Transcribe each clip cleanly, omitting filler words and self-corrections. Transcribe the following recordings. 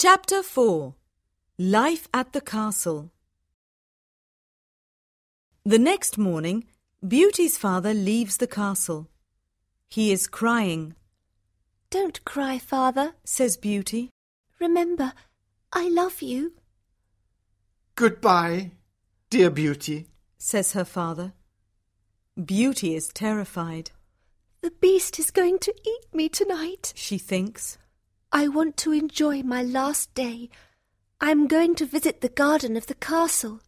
Chapter 4. Life at the Castle. The next morning, Beauty's father leaves the castle. He is crying. "Don't cry, father," says Beauty. "Remember, I love you." "Goodbye, dear Beauty," says her father. Beauty is terrified. "The beast is going to eat me tonight," she thinks. "I want to enjoy my last day. I'm going to visit the garden of the castle."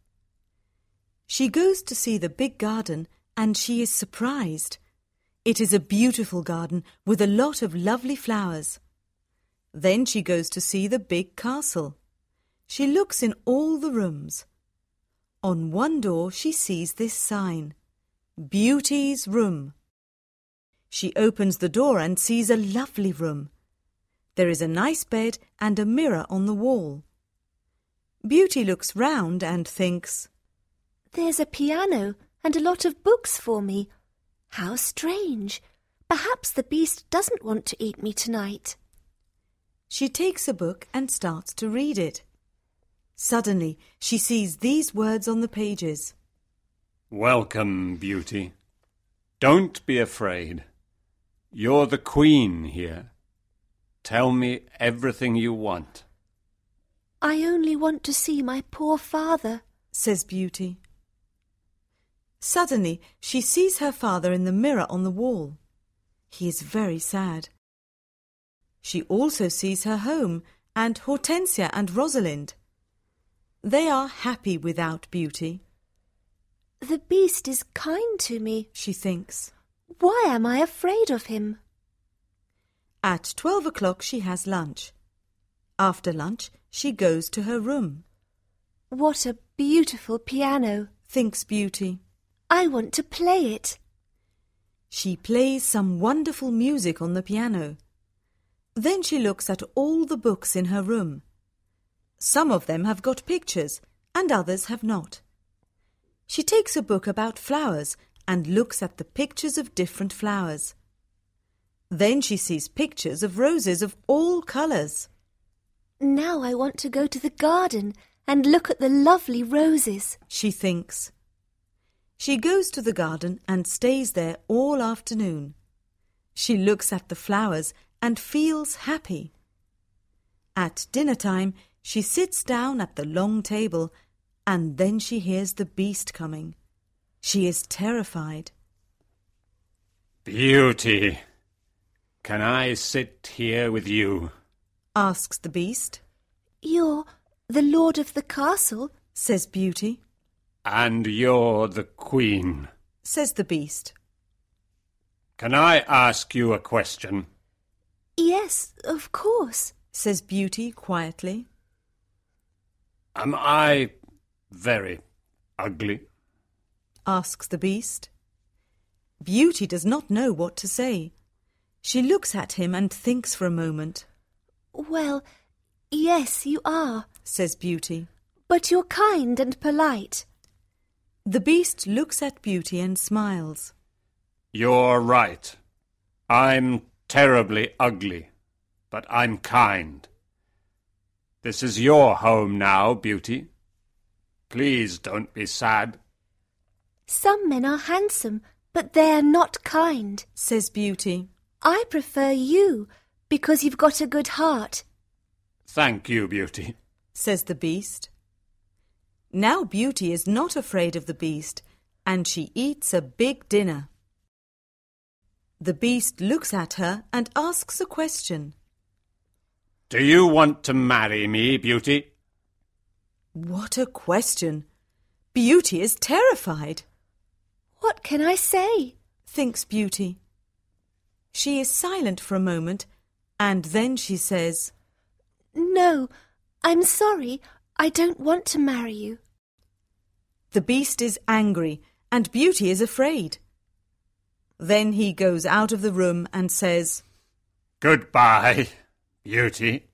She goes to see the big garden and she is surprised. It is a beautiful garden with a lot of lovely flowers. Then she goes to see the big castle. She looks in all the rooms. On one door she sees this sign, Beauty's Room. She opens the door and sees a lovely room. There is a nice bed and a mirror on the wall. Beauty looks round and thinks, "There's a piano and a lot of books for me. How strange! Perhaps the beast doesn't want to eat me tonight." She takes a book and starts to read it. Suddenly, she sees these words on the pages. "Welcome, Beauty. Don't be afraid. You're the queen here. Tell me everything you want." "I only want to see my poor father," says Beauty. Suddenly, she sees her father in the mirror on the wall. He is very sad. She also sees her home and Hortensia and Rosalind. They are happy without Beauty. "The beast is kind to me," she thinks. "Why am I afraid of him?" At 12 o'clock she has lunch. After lunch, she goes to her room. "What a beautiful piano," thinks Beauty. "I want to play it." She plays some wonderful music on the piano. Then she looks at all the books in her room. Some of them have got pictures and others have not. She takes a book about flowers and looks at the pictures of different flowers. Then she sees pictures of roses of all colours. "Now I want to go to the garden and look at the lovely roses," she thinks. She goes to the garden and stays there all afternoon. She looks at the flowers and feels happy. At dinner time, she sits down at the long table and then she hears the beast coming. She is terrified. "Beauty, can I sit here with you?" asks the beast. "You're the lord of the castle," says Beauty. "And you're the queen," says the beast. "Can I ask you a question?" "Yes, of course," says Beauty quietly. "Am I very ugly?" asks the beast. Beauty does not know what to say. She looks at him and thinks for a moment. "Well, yes, you are," says Beauty. "But you're kind and polite." The beast looks at Beauty and smiles. "You're right. I'm terribly ugly, but I'm kind. This is your home now, Beauty. Please don't be sad." "Some men are handsome, but they're not kind," says Beauty. "I prefer you because you've got a good heart." "Thank you, Beauty," says the beast. Now Beauty is not afraid of the beast and she eats a big dinner. The beast looks at her and asks a question. "Do you want to marry me, Beauty?" What a question! Beauty is terrified. "What can I say?" thinks Beauty. She is silent for a moment and then she says, "No, I'm sorry. I don't want to marry you." The beast is angry and Beauty is afraid. Then he goes out of the room and says, "Goodbye, Beauty."